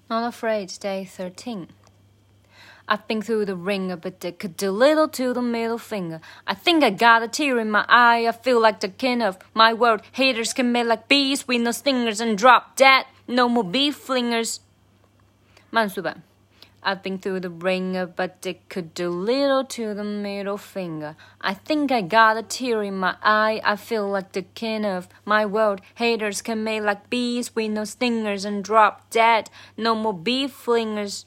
Not Afraid, Day 13. I've been through the ringer, but they could do little to the middle finger. I think I got a tear in my eye. I feel like the king of my world. Haters can make like bees with no stingers and drop dead. No more beef flingers. 慢速版 I've been through the ringer, but they could do little to the middle finger. I think I got a tear in my eye. I feel like the king of my world. Haters can make like bees with no stingers and drop dead. No more beef flingers.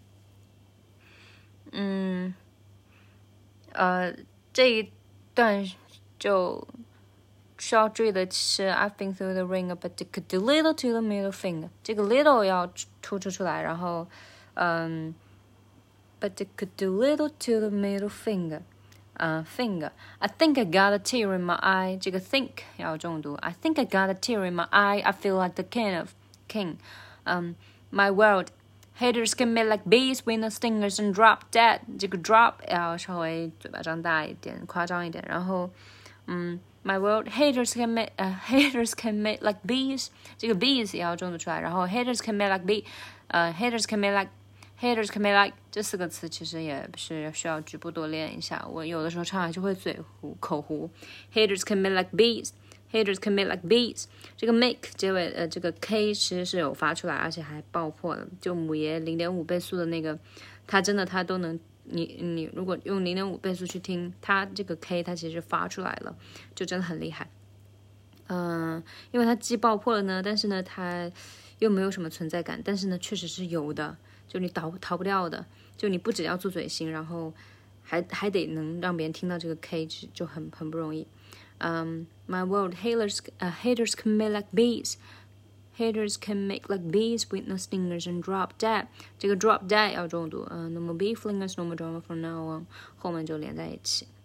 这一段就需要注意的是 I've been through the ringer, but they could do little to the middle finger. 这个 little 要突出来，然后but they could do little to the middle finger. Finger. I think I got a tear in my eye. 这个 think 要重读。I think I got a tear in my eye. I feel like the king. My world. Haters can make like bees with no stingers and drop dead. 这个 drop 要稍微嘴巴张大一点，夸张一点。然后my world. Haters can make like bees. 这个 bees 也要重读出来。然后 haters can make like haters can make like 这4个词其实也是需要局部多练一下。我有的时候唱还是会口糊。Haters can make like bees.Haters can make like bees. 这个 make 结尾这个 K 其实是有发出来，而且还爆破了。就母爷 0.5 倍速的那个，他都能，你如果用 0.5 倍速去听，他这个 K 他其实发出来了，就真的很厉害。因为他既爆破了呢，但是呢他又没有什么存在感，但是呢确实是有的，就你逃不掉的，就你不只要做嘴型，然后还得能让别人听到这个 K， 就很不容易。My world, haters can make like bees. Haters can make like bees with no stingers and drop dead. 这个 drop dead 要重读。No more beef flingers, no more drama from now on. 后面就连在一起。